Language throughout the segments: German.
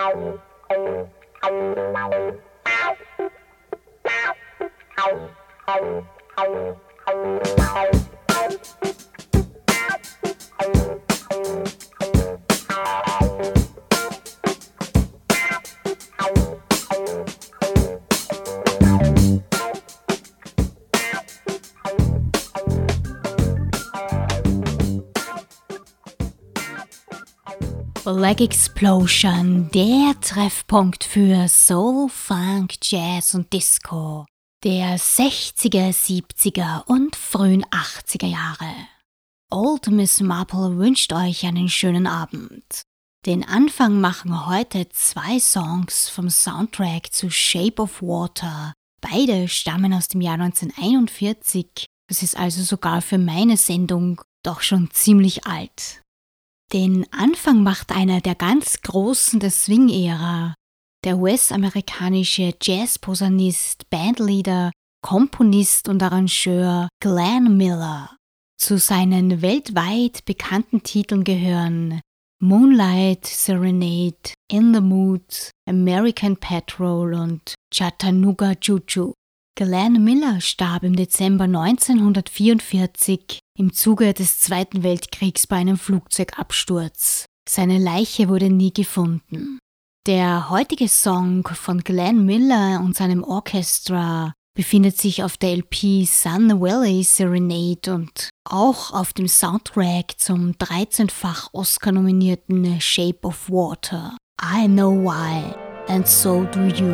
Black Explosion, der Treffpunkt für Soul, Funk, Jazz und Disco der 60er, 70er und frühen 80er Jahre. Old Miss Marple wünscht euch einen schönen Abend. Den Anfang machen heute 2 Songs vom Soundtrack zu Shape of Water. Beide stammen aus dem Jahr 1941, das ist also sogar für meine Sendung doch schon ziemlich alt. Den Anfang macht einer der ganz Großen der Swing-Ära, der US-amerikanische Jazz-Posaunist, Bandleader, Komponist und Arrangeur Glenn Miller. Zu seinen weltweit bekannten Titeln gehören Moonlight Serenade, In the Mood, American Patrol und Chattanooga Choo-Choo. Glenn Miller starb im Dezember 1944 im Zuge des Zweiten Weltkriegs bei einem Flugzeugabsturz. Seine Leiche wurde nie gefunden. Der heutige Song von Glenn Miller und seinem Orchestra befindet sich auf der LP Sun Valley Serenade und auch auf dem Soundtrack zum 13-fach Oscar-nominierten Shape of Water. I know why, and so do you.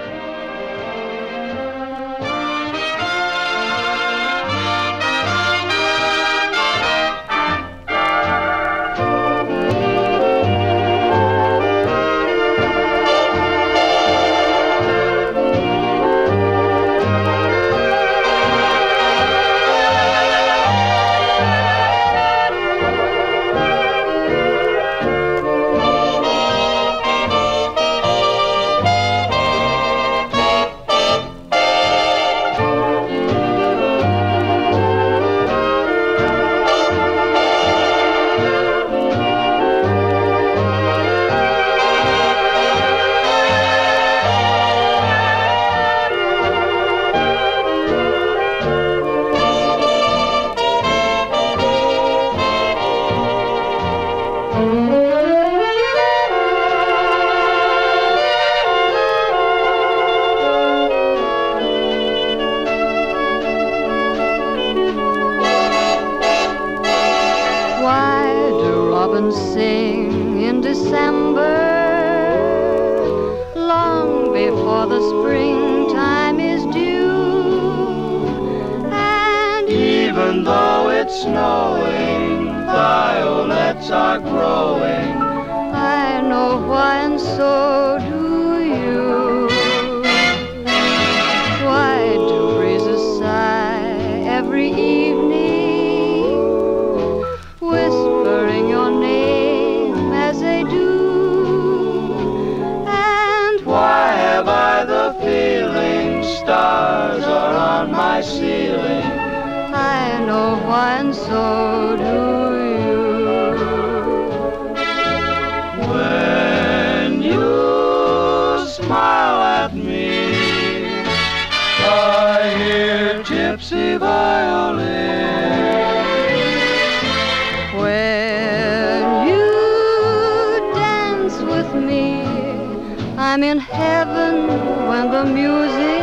I'm in heaven when the music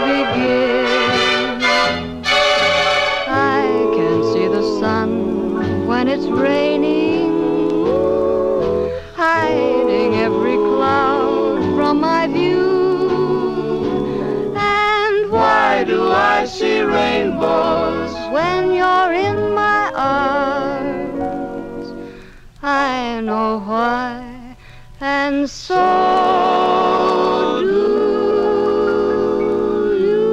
begins. I can see the sun when it's raining, hiding every cloud from my view. And why do I see rainbows when you're in my arms? I know why. And so do you.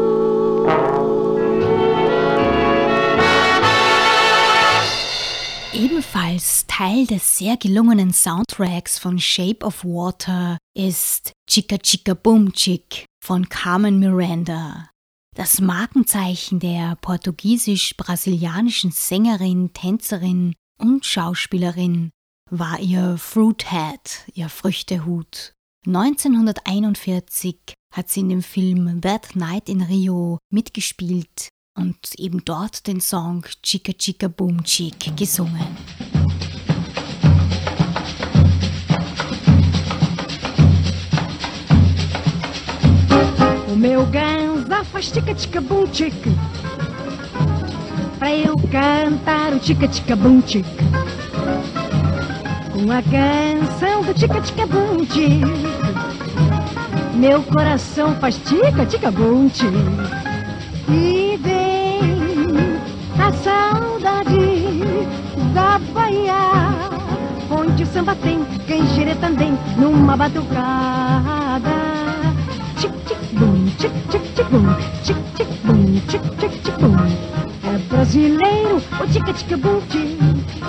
Ebenfalls Teil des sehr gelungenen Soundtracks von Shape of Water ist Chica Chica Boom Chick von Carmen Miranda. Das Markenzeichen der portugiesisch-brasilianischen Sängerin, Tänzerin und Schauspielerin war ihr Fruit Hat, ihr Früchtehut. 1941 hat sie in dem Film That Night in Rio mitgespielt und eben dort den Song Chica Chica Boom Chick gesungen. O meu ganza faz tica-tica-bum-tic, pra eu cantar o tica-tica-bum-tic, com a canção do tica-tica-bum-tic. Meu coração faz tica-tica-bum-tic, e vem a saudade da Bahia, onde o samba tem canjere também numa batucada. Tic-tic-bum, tic-tic-tic-bum, tic-tic-bum, tic-tic-tic-bum. É brasileiro o tica-tica-bum-tic,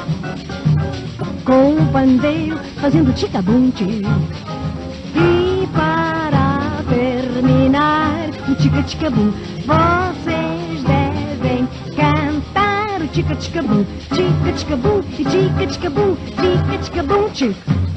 com o pandeiro fazendo tica-bum-tic. E para terminar o tica-tica-bum, vocês devem cantar o tica-tica-bum, tica-tica-bum, tica-tica-bum, tica-tica-bum-tic.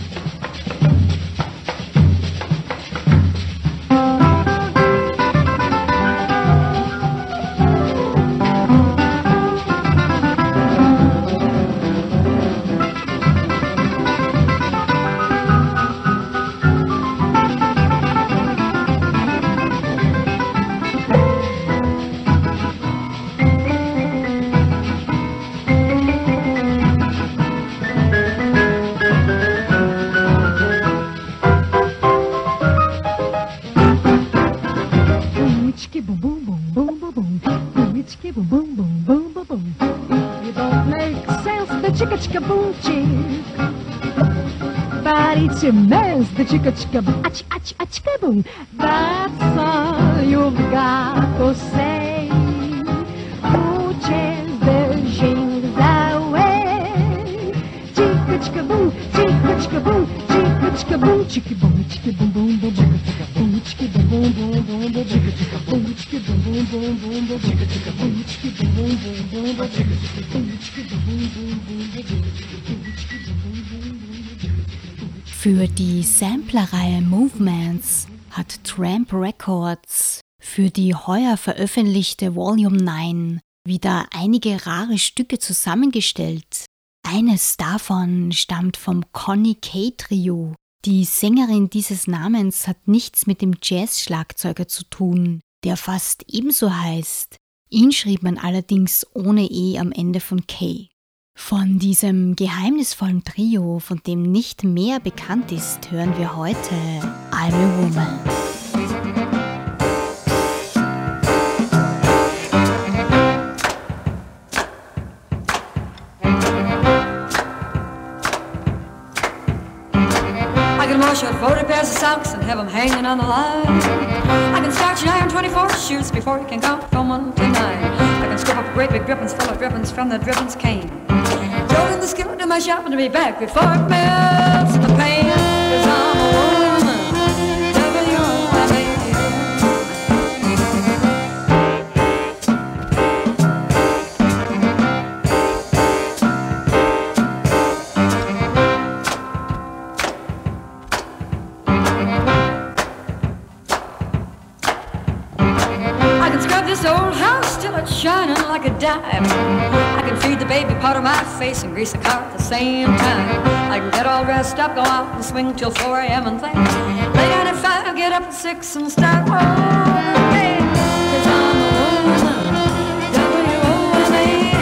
The chica-chica-boom, a-chi-a-chi-a-chica-boom. That's all you've got to say. Who chase the jingles away? Chica-chica-boom, chica-chica-boom, chica-chica-boom, chica-boom, chica-boom, boom, boom, chica-boom, chica-boom, boom, boom, boom, chica-boom, chica-boom, boom, boom, boom, chica-boom, chica-boom, boom, boom, boom, chica-boom, chica-boom, boom, boom, boom. Für die Samplerreihe Movements hat Tramp Records für die heuer veröffentlichte Volume 9 wieder einige rare Stücke zusammengestellt. Eines davon stammt vom Connie Kay Trio. Die Sängerin dieses Namens hat nichts mit dem Jazz-Schlagzeuger zu tun, der fast ebenso heißt. Ihn schrieb man allerdings ohne E am Ende von Kay. Von diesem geheimnisvollen Trio, von dem nicht mehr bekannt ist, hören wir heute I'm a Woman. I can wash out 40 pairs of socks and have them hanging on the line. I can starch and iron 24 shoes before you can count from 1 to 9. I can scoop up great big drippings full of drippings from the drippings cane. Throw in the skillet to my shop and be back before it melts in the pain. 'Cause I'm a woman, W-O-M-A-N. I can scrub this old house till it's shining like a dime. I can feed the baby powder my face and grease the car at the same time. I can get all dressed up, go out and swing till 4 a.m. and think. Lay down at 5, get up at 6 and start rolling again. 'Cause I'm a woman, W-O-M-A-N.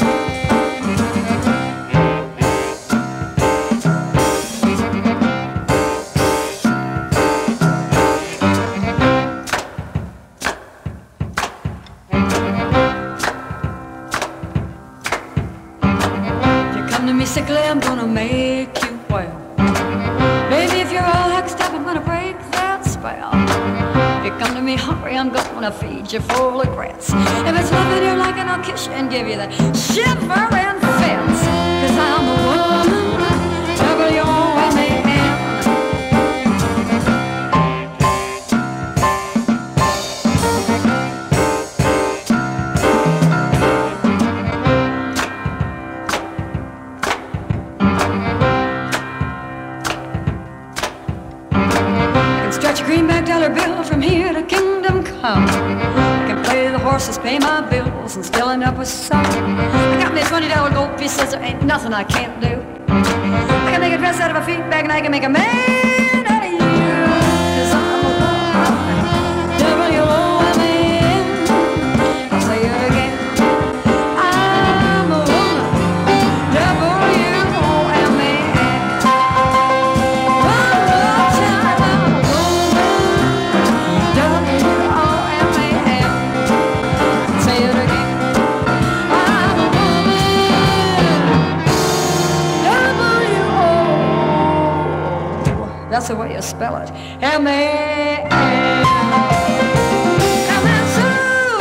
Sickly, I'm gonna make you well. Baby, if you're all hexed up, I'm gonna break that spell. If you come to me hungry, I'm gonna feed you full of grits. If it's loving you like it, I'll kiss you and give you that shivering fits. 'Cause I'm a woman, W-O-M-A-N. can stretch a greenback dollar bill from here to kingdom come. I can play the horses, pay my bills, and still end up with some. I got me $20 gold pieces, there ain't nothing I can't do. I can make a dress out of a feed bag, and I can make a man out of you. 'Cause I'm a woman, W-O-M-A-N. I'll say it again. I'm a woman, W-O-M-A-N. One more time, I'm a woman, W-O-M-A-N. Say it again. I'm a woman, W-O. That's the way you spell it. M-A-N. Come on, Sue.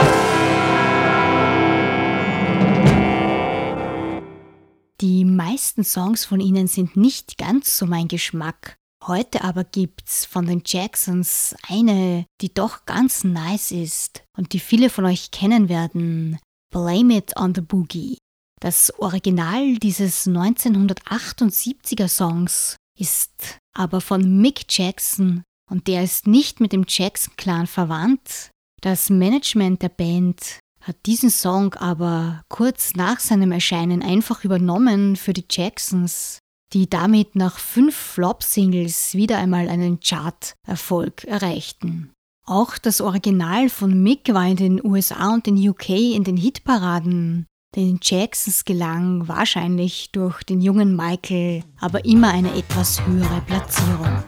Die meisten Songs von ihnen sind nicht ganz so mein Geschmack. Heute aber gibt's von den Jacksons eine, die doch ganz nice ist und die viele von euch kennen werden. Blame It on the Boogie. Das Original dieses 1978er Songs ist aber von Mick Jackson und der ist nicht mit dem Jackson-Clan verwandt. Das Management der Band hat diesen Song aber kurz nach seinem Erscheinen einfach übernommen für die Jacksons, die damit nach 5 Flop-Singles wieder einmal einen Chart-Erfolg erreichten. Auch das Original von Mick war in den USA und den UK in den Hitparaden. Den Jacksons gelang wahrscheinlich durch den jungen Michael aber immer eine etwas höhere Platzierung.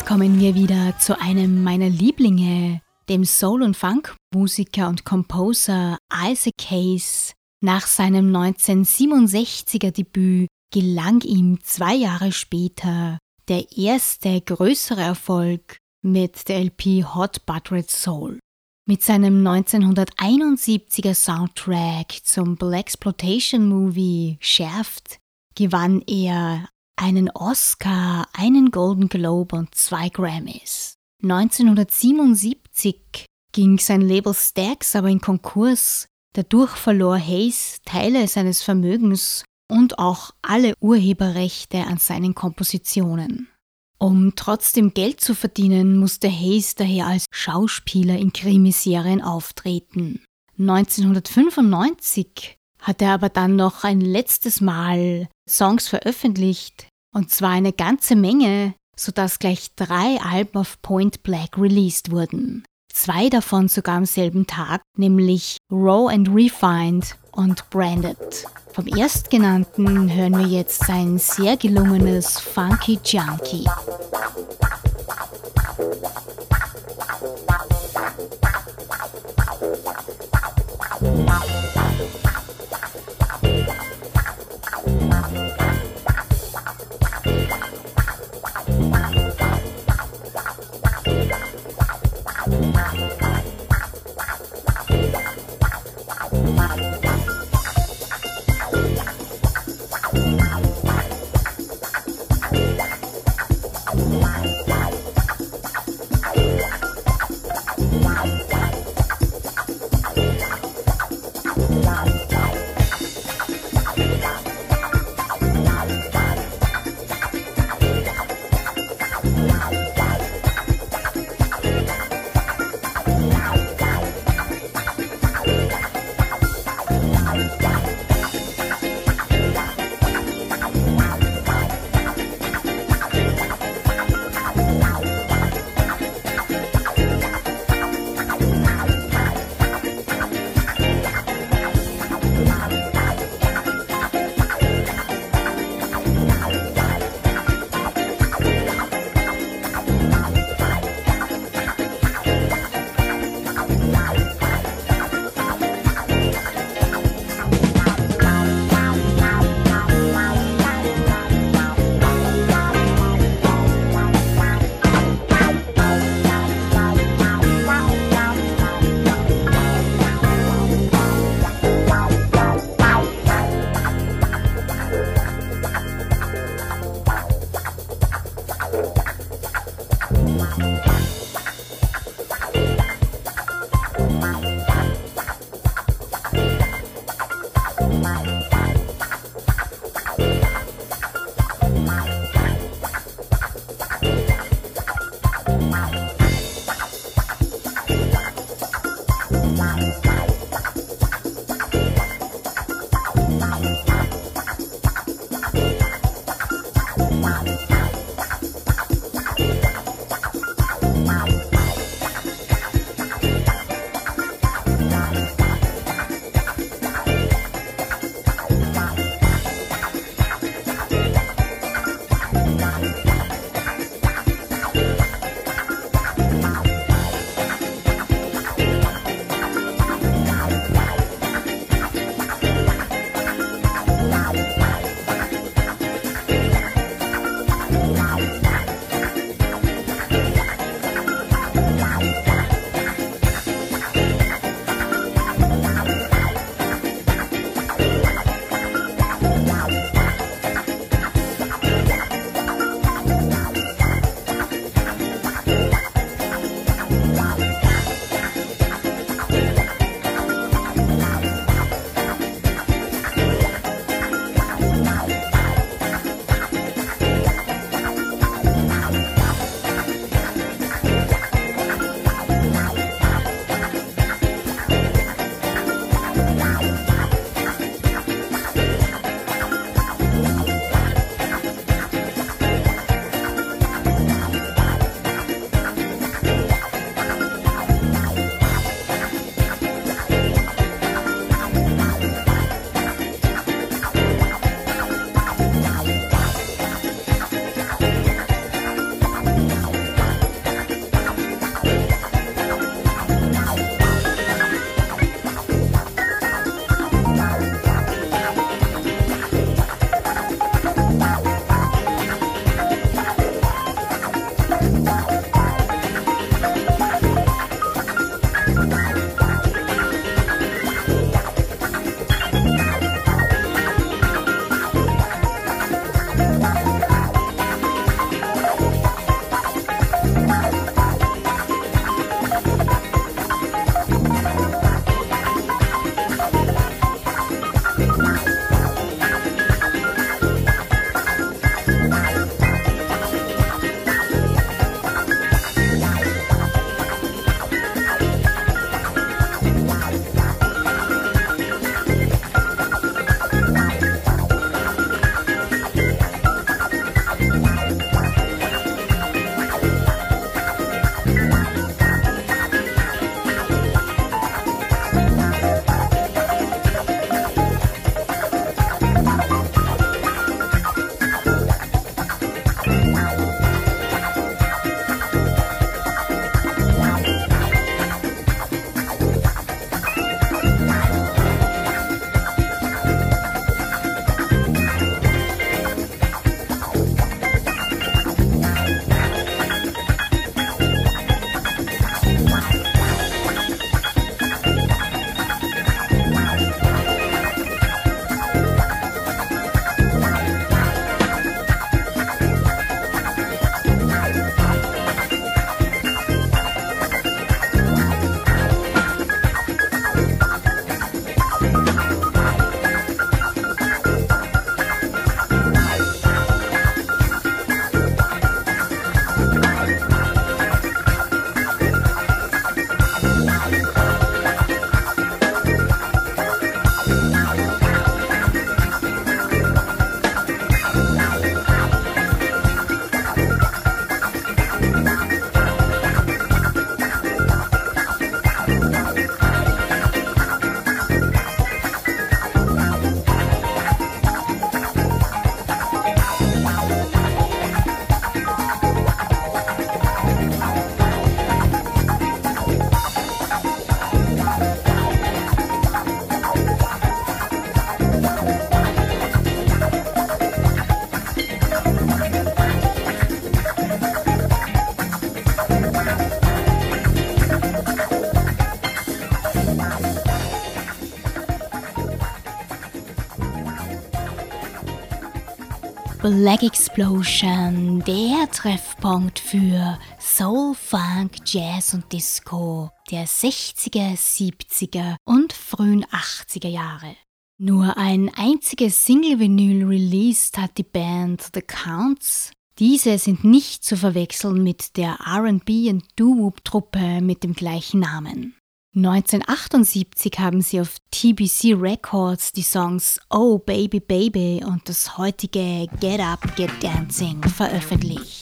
kommen wir wieder zu einem meiner Lieblinge, dem Soul- und Funk-Musiker und Composer Isaac Hayes. Nach seinem 1967er Debüt gelang ihm 2 Jahre später der erste größere Erfolg mit der LP Hot Buttered Soul. Mit seinem 1971er Soundtrack zum Blaxploitation-Movie Shaft gewann er einen Oscar, einen Golden Globe und 2 Grammys. 1977 ging sein Label Stax aber in Konkurs. Dadurch verlor Hayes Teile seines Vermögens und auch alle Urheberrechte an seinen Kompositionen. Um trotzdem Geld zu verdienen, musste Hayes daher als Schauspieler in Krimiserien auftreten. 1995 hat er aber dann noch ein letztes Mal Songs veröffentlicht, und zwar eine ganze Menge, sodass gleich 3 Alben auf Point Black released wurden. 2 davon sogar am selben Tag, nämlich Raw and Refined und Branded. Vom erstgenannten hören wir jetzt sein sehr gelungenes Funky Junkie. Black Explosion, der Treffpunkt für Soul, Funk, Jazz und Disco der 60er, 70er und frühen 80er Jahre. Nur ein einziges Single-Vinyl released hat die Band The Counts. Diese sind nicht zu verwechseln mit der R&B- und Doo-Wop-Truppe mit dem gleichen Namen. 1978 haben sie auf TBC Records die Songs Oh Baby Baby und das heutige Get Up, Get Dancing veröffentlicht.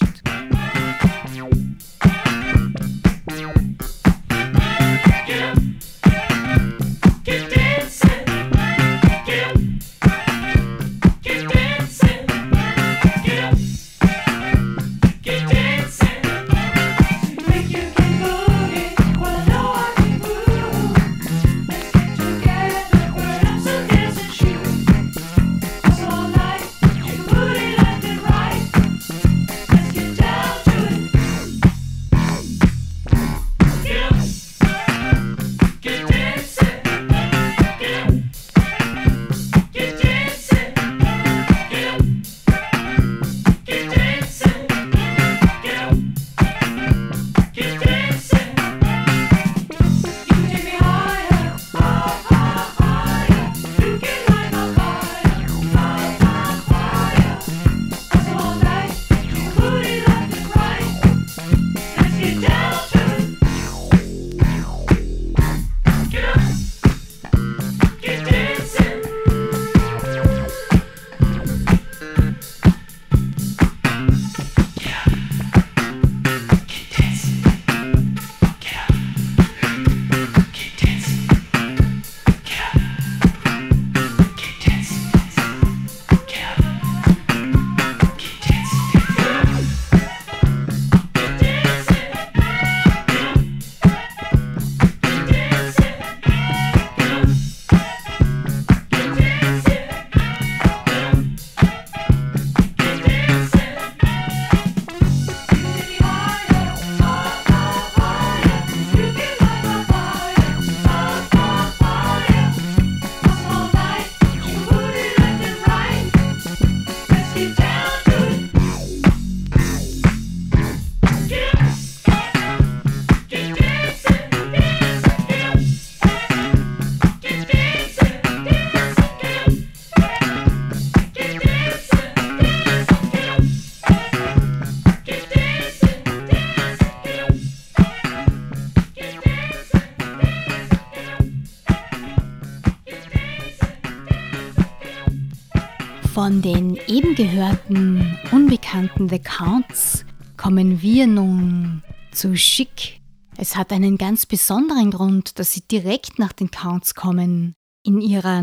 Von den eben gehörten, unbekannten The Counts kommen wir nun zu Chic. Es hat einen ganz besonderen Grund, dass sie direkt nach den Counts kommen. In ihrer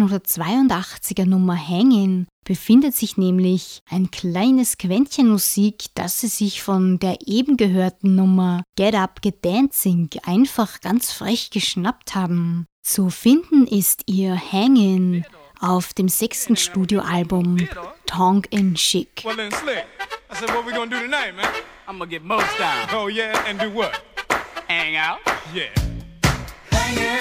1982er Nummer Hangin' befindet sich nämlich ein kleines Quäntchen Musik, das sie sich von der eben gehörten Nummer Get Up, Get Dancing einfach ganz frech geschnappt haben. Zu finden ist ihr Hangin' auf dem 6. Studioalbum Tongue in Chic. Well then, Slick, I said, what we gonna do tonight, man? I'm gonna get most down. Oh yeah, and do what? Hang out. Yeah. Hang it.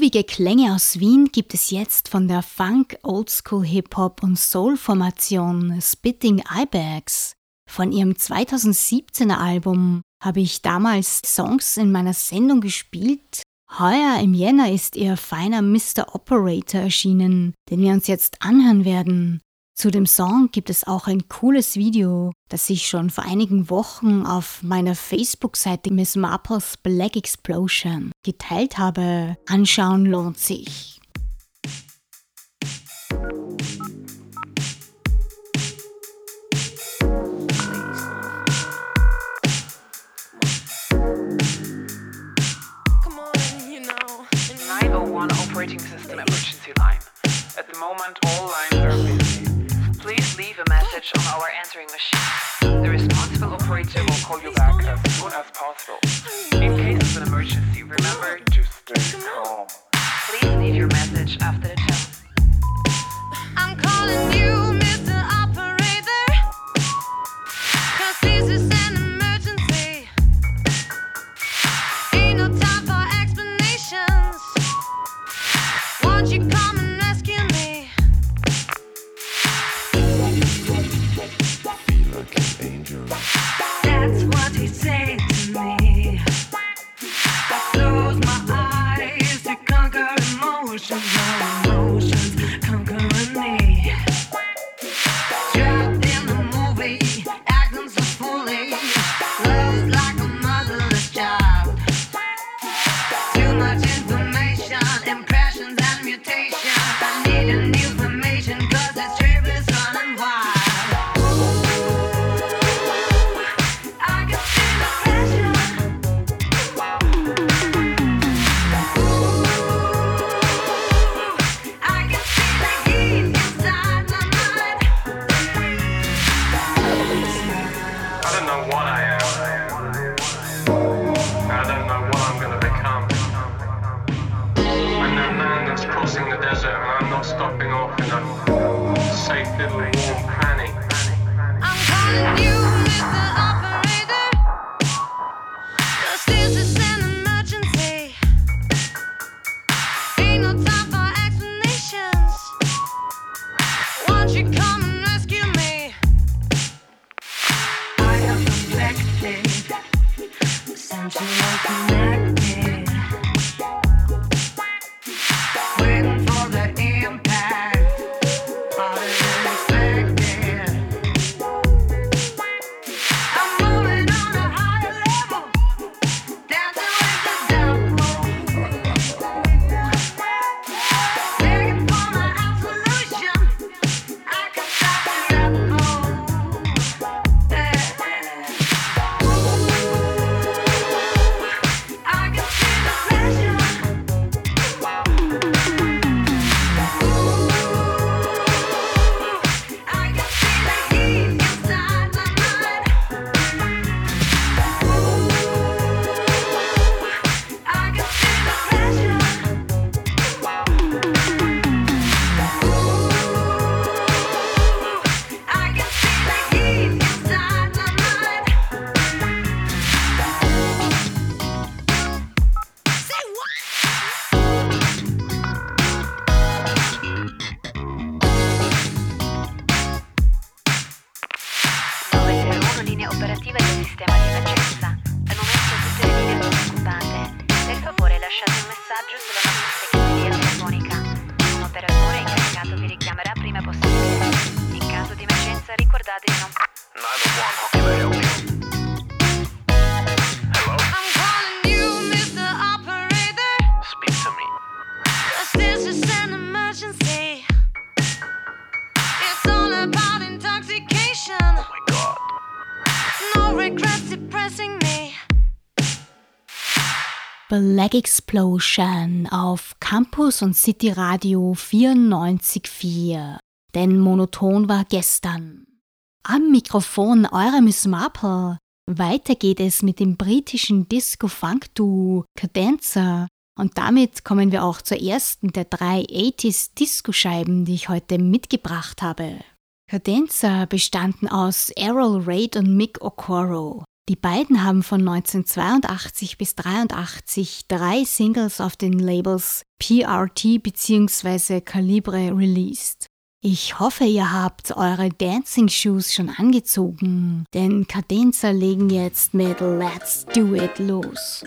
Groovige Klänge aus Wien gibt es jetzt von der Funk, Oldschool, Hip-Hop und Soul-Formation Spitting Ibex. Von ihrem 2017er Album habe ich damals Songs in meiner Sendung gespielt. Heuer im Jänner ist ihr feiner Mr. Operator erschienen, den wir uns jetzt anhören werden. Zu dem Song gibt es auch ein cooles Video, das ich schon vor einigen Wochen auf meiner Facebook-Seite Miss Marples Black Explosion geteilt habe. Anschauen lohnt sich. Operating system emergency line. At the moment, all lines are busy. Please leave a message on our answering machine. The responsible operator will call you back as soon as possible. In case of an emergency, remember to stay calm. Please leave your message after the tone. I'm calling you, Mr. Operator, 'cause this is an emergency. Ain't no time for explanations. Won't you come and rescue me? Feel like an angel. That's what he said to me. I close my eyes to conquer emotions, no emotions conquering me. Trapped in the movie, acting so foolish. Love's like a motherless child. Too much information, impressions and mutation. I need a new information 'cause this trip is running wild. I can feel the pressure. I can feel the heat inside my mind. I don't know what I am. I don't know what I'm gonna become. I'm that man that's crossing the desert and I'm not stopping off in a safe little warm cranny. I'm calling you, Mr. Operator, 'cause this is an emergency. Ain't no time for explanations. Won't you come and rescue me? I am affected, sensual connected, waiting for the impact, harder than expected. I'm moving on a higher level, dancing with the devil, begging for my absolution. I can stop the rebel. I can feel the pressure. I can feel the heat inside my mind. I can feel the pressure. I can feel the heat inside my mind. Say what? Linea operativa del sistema di emergenza. Al momento tutte le linee sono occupate. Per favore lasciate un messaggio sulla nostra segreteria telefonica. Un operatore incaricato vi richiamerà prima possibile. In caso di emergenza ricordate di non... 911, how can I help you? Hello? I'm calling you, Mr. Operator, Speak to me. 'cause this is an emergency. It's all about intoxication. Oh my God. No regrets depressing me. Black Explosion auf Campus und City Radio 94,4. Denn monoton war gestern. Am Mikrofon eure Miss Marple. Weiter geht es mit dem britischen Disco-Funk-Duo Cadenza. Und damit kommen wir auch zur ersten der 3 80s-Disco-Scheiben, die ich heute mitgebracht habe. Cadenza bestanden aus Errol Reid und Mick Okoro. Die beiden haben von 1982 bis 1983 3 Singles auf den Labels PRT bzw. Calibre released. Ich hoffe, ihr habt eure Dancing Shoes schon angezogen, denn Cadenza legen jetzt mit Let's Do It los.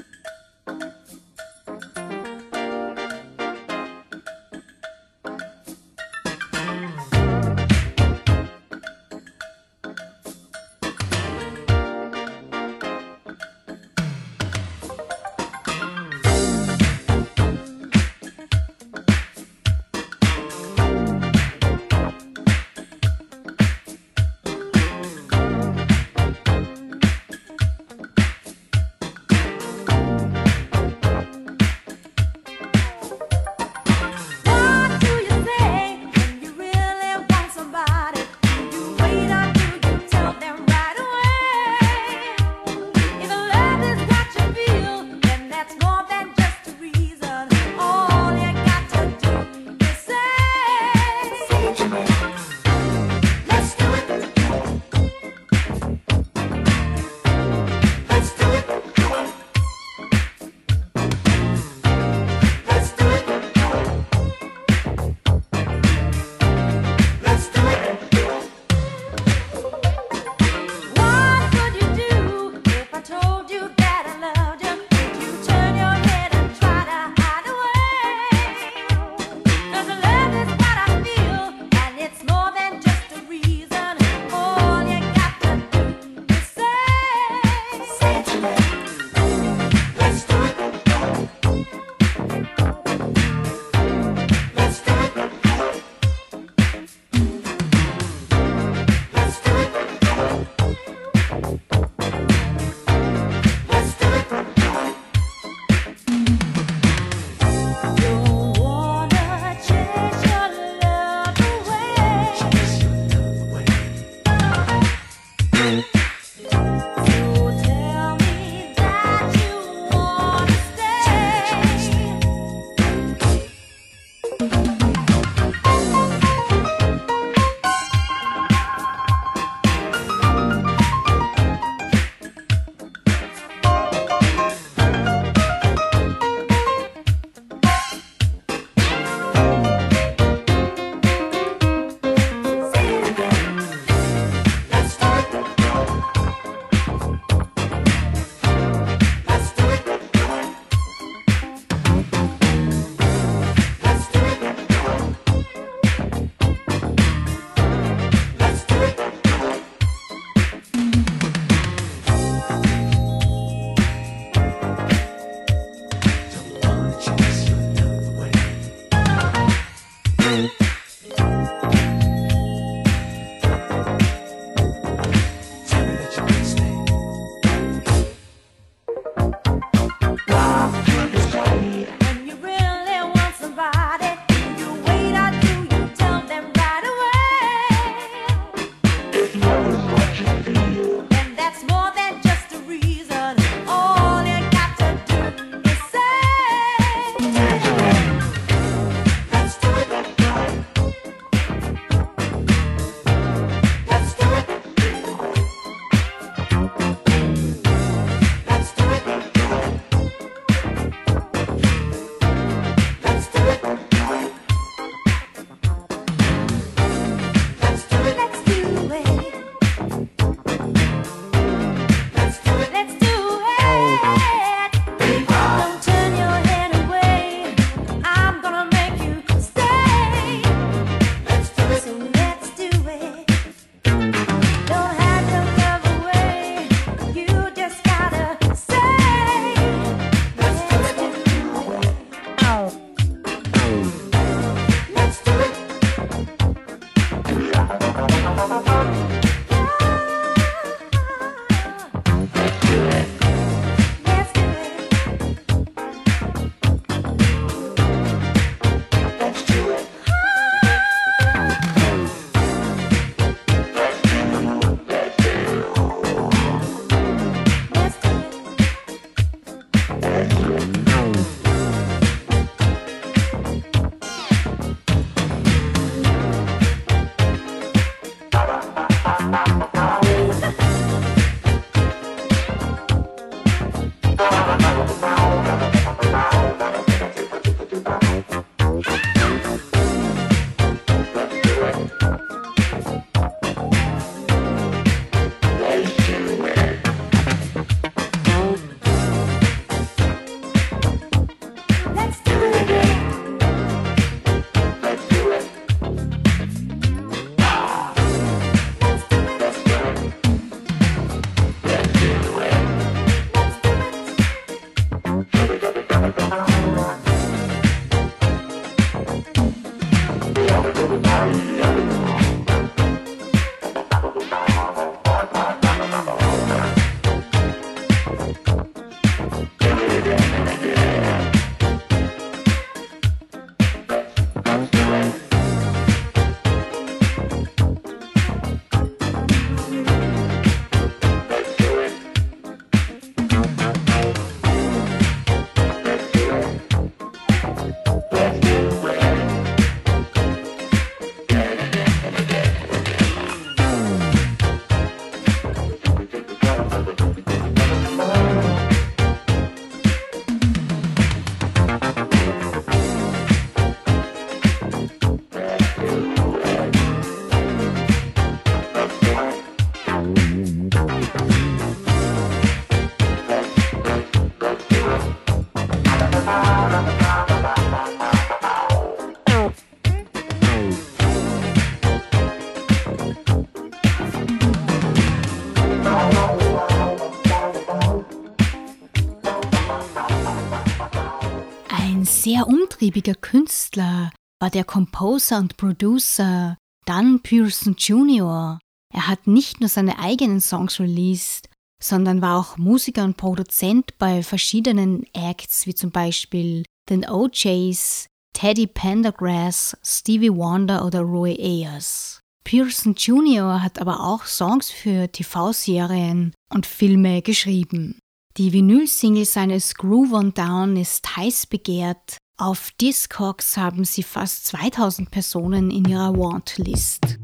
sehr umtriebiger Künstler war der Composer und Producer Dan Pearson Jr. Er hat nicht nur seine eigenen Songs released, sondern war auch Musiker und Produzent bei verschiedenen Acts, wie zum Beispiel den OJs, Teddy Pendergrass, Stevie Wonder oder Roy Ayers. Pearson Jr. hat aber auch Songs für TV-Serien und Filme geschrieben. Die Vinyl-Single seines Groove on Down ist heiß begehrt. Auf Discogs haben sie fast 2000 Personen in ihrer Want-List.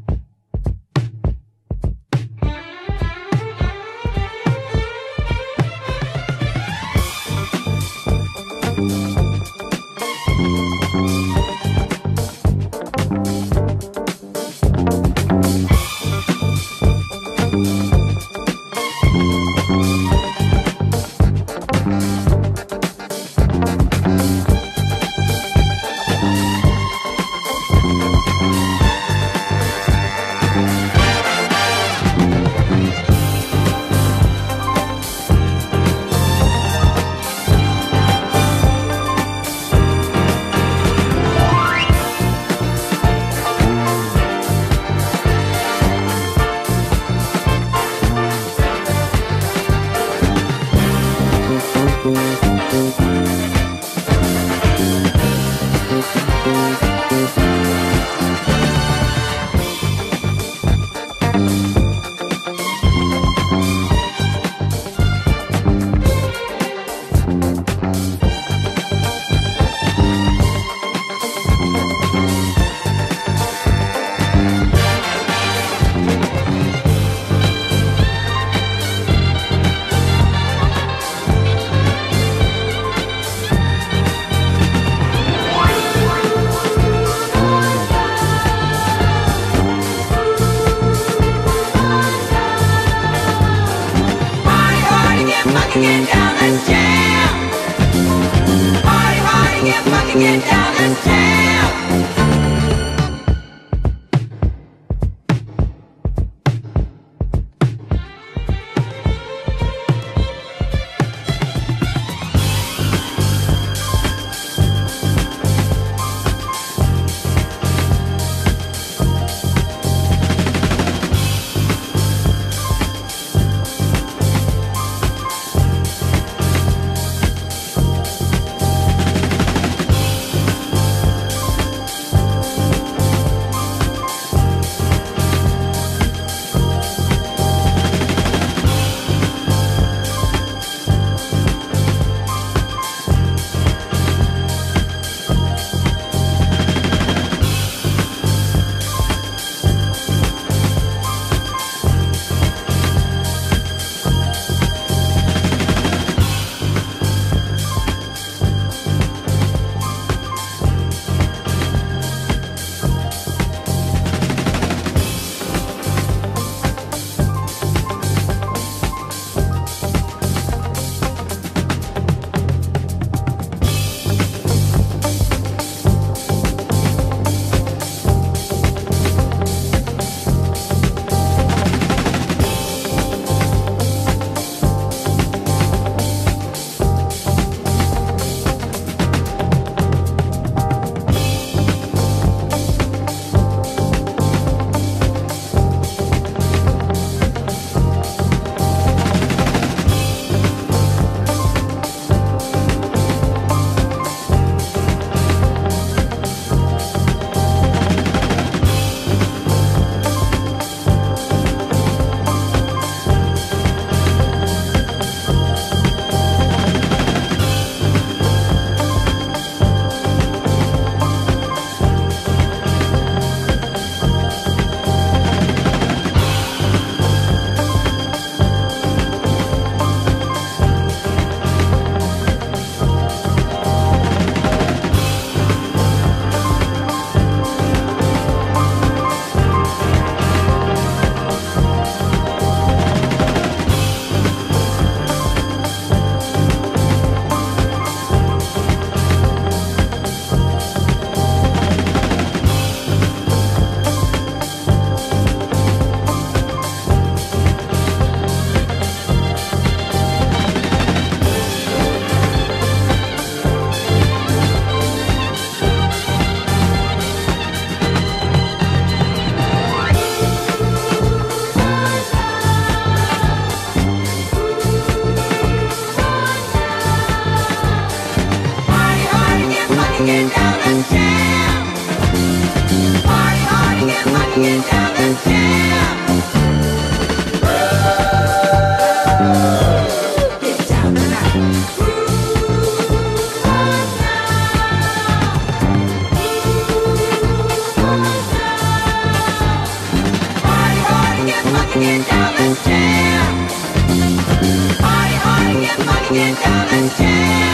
money, get down, let's jam. Party hard, get money, get down, let's jam.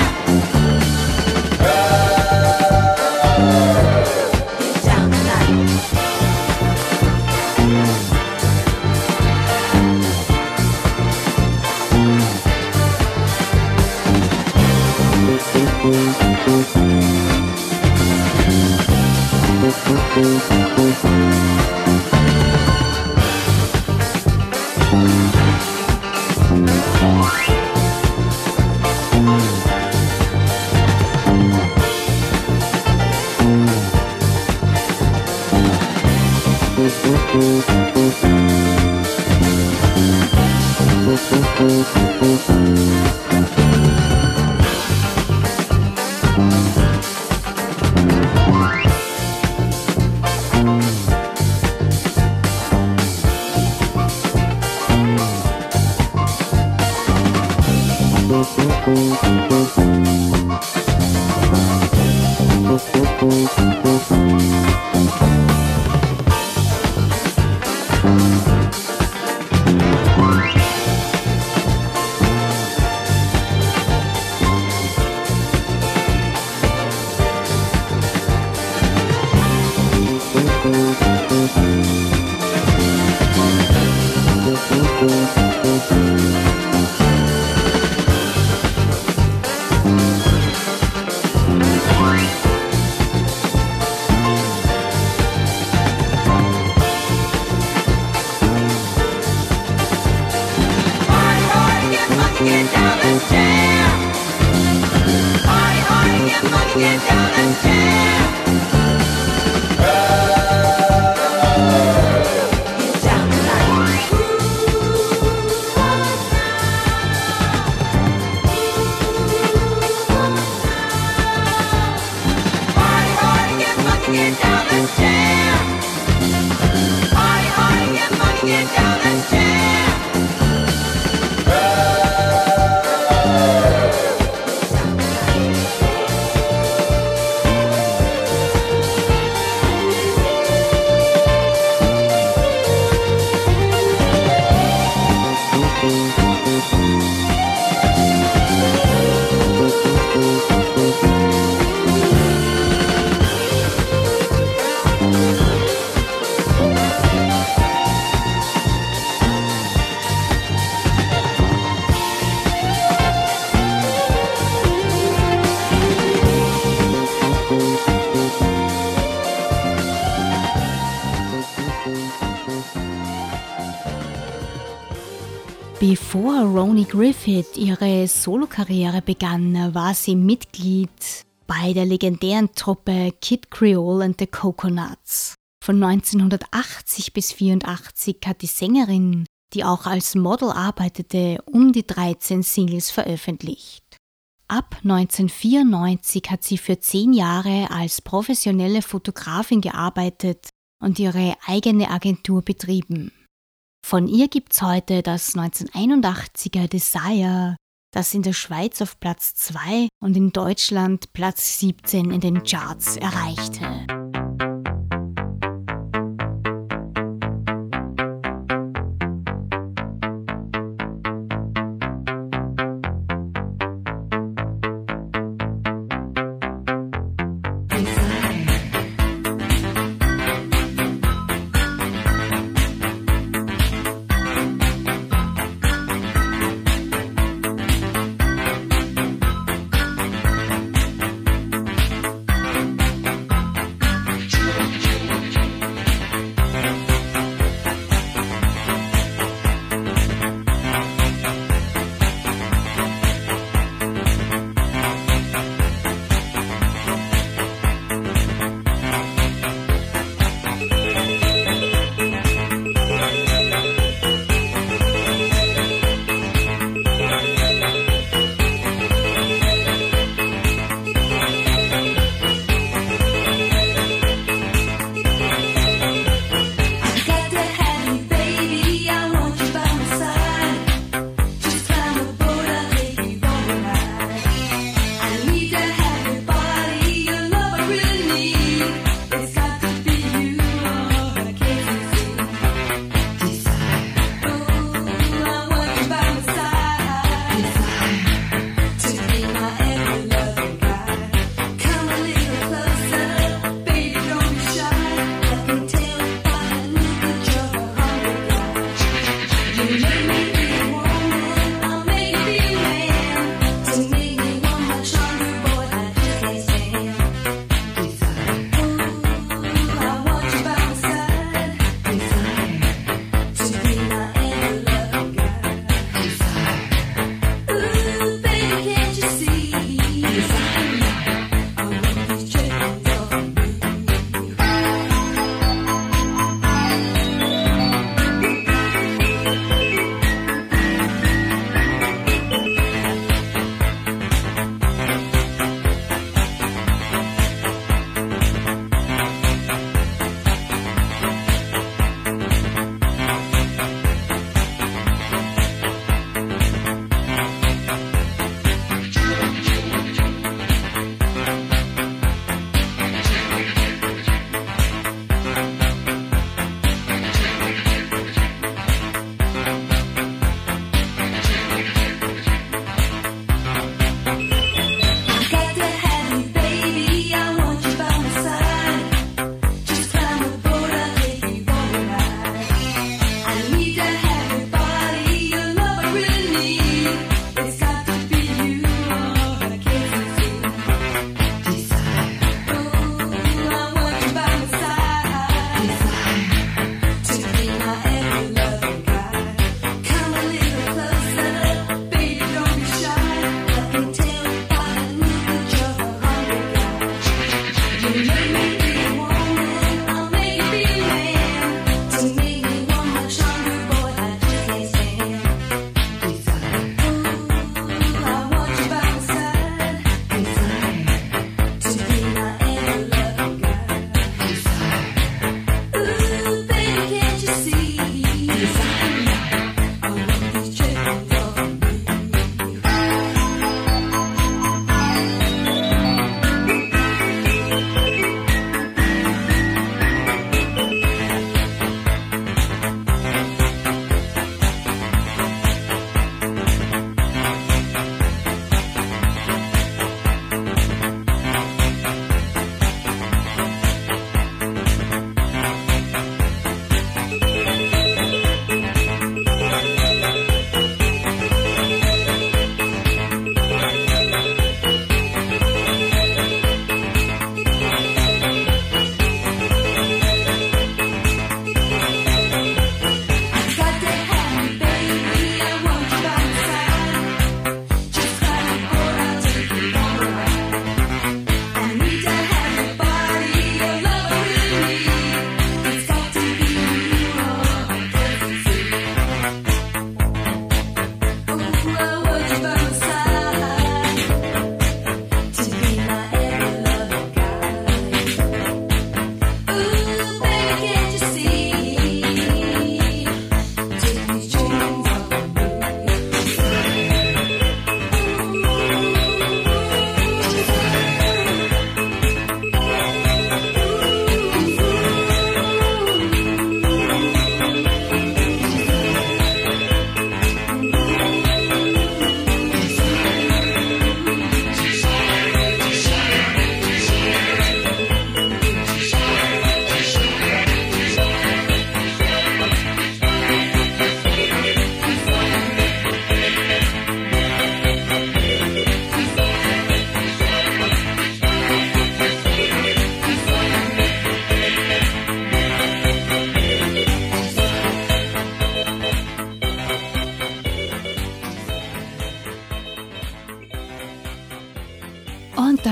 Get down tonight. Bevor Roni Griffith ihre Solokarriere begann, war sie Mitglied bei der legendären Truppe Kid Creole and the Coconuts. Von 1980 bis 1984 hat die Sängerin, die auch als Model arbeitete, um die 13 Singles veröffentlicht. Ab 1994 hat sie für 10 Jahre als professionelle Fotografin gearbeitet und ihre eigene Agentur betrieben. Von ihr gibt's heute das 1981er Desire, das in der Schweiz auf Platz 2 und in Deutschland Platz 17 in den Charts erreichte.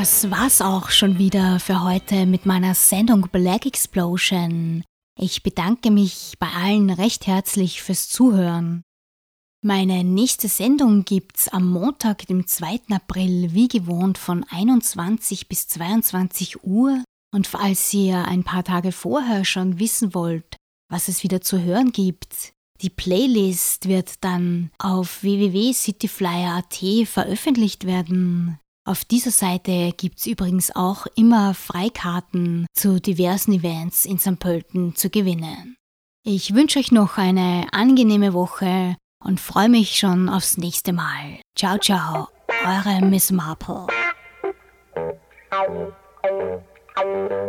Das war's auch schon wieder für heute mit meiner Sendung Black Explosion. Ich bedanke mich bei allen recht herzlich fürs Zuhören. Meine nächste Sendung gibt's am Montag, dem 2. April, wie gewohnt von 21 bis 22 Uhr. Und falls ihr ein paar Tage vorher schon wissen wollt, was es wieder zu hören gibt, die Playlist wird dann auf www.cityflyer.at veröffentlicht werden. Auf dieser Seite gibt's übrigens auch immer Freikarten zu diversen Events in St. Pölten zu gewinnen. Ich wünsche euch noch eine angenehme Woche und freue mich schon aufs nächste Mal. Ciao, ciao, eure Miss Marple.